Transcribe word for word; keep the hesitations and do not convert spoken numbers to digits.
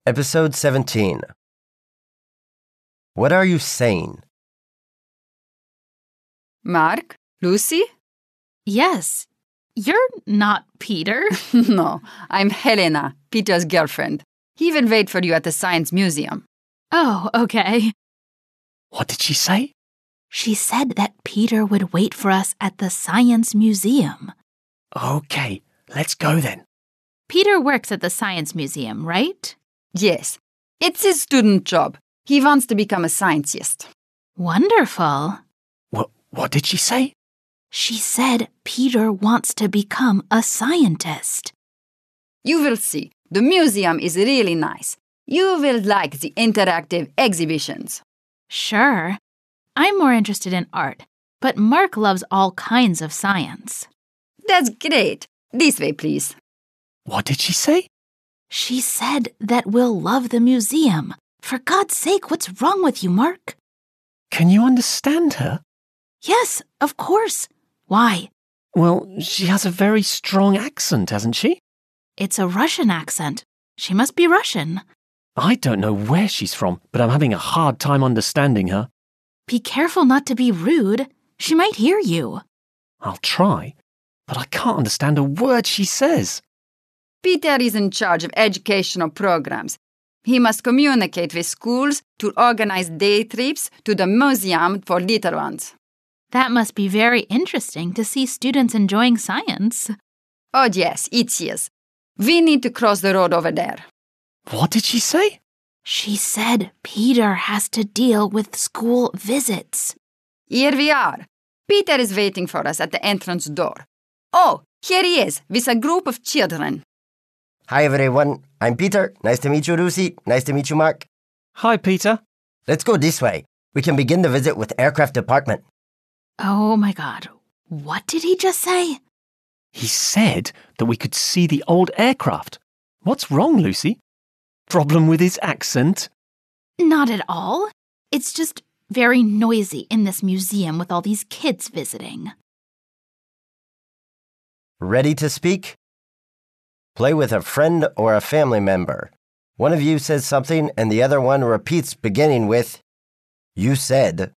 Episode seventeen. What are you saying? Mark? Lucy? Yes. You're not Peter. No, I'm Helena, Peter's girlfriend. He will wait for you at the Science Museum. Oh, okay. What did she say? She said that Peter would wait for us at the Science Museum. Okay, let's go then. Peter works at the Science Museum, right? Yes, it's his student job. He wants to become a scientist. Wonderful. What, what did she say? She said Peter wants to become a scientist. You will see. The museum is really nice. You will like the interactive exhibitions. Sure. I'm more interested in art, but Mark loves all kinds of science. That's great. This way, please. What did she say? She said that we'll love the museum. For God's sake, what's wrong with you, Mark? Can you understand her? Yes, of course. Why? Well, she has a very strong accent, hasn't she? It's a Russian accent. She must be Russian. I don't know where she's from, but I'm having a hard time understanding her. Be careful not to be rude. She might hear you. I'll try, but I can't understand a word she says. Peter is in charge of educational programs. He must communicate with schools to organize day trips to the museum for little ones. That must be very interesting to see students enjoying science. Oh, yes, it is. We need to cross the road over there. What did she say? She said Peter has to deal with school visits. Here we are. Peter is waiting for us at the entrance door. Oh, here he is, with a group of children. Hi, everyone. I'm Peter. Nice to meet you, Lucy. Nice to meet you, Mark. Hi, Peter. Let's go this way. We can begin the visit with aircraft department. Oh my God. What did he just say? He said that we could see the old aircraft. What's wrong, Lucy? Problem with his accent? Not at all. It's just very noisy in this museum with all these kids visiting. Ready to speak? Play with a friend or a family member. One of you says something and the other one repeats beginning with, "You said."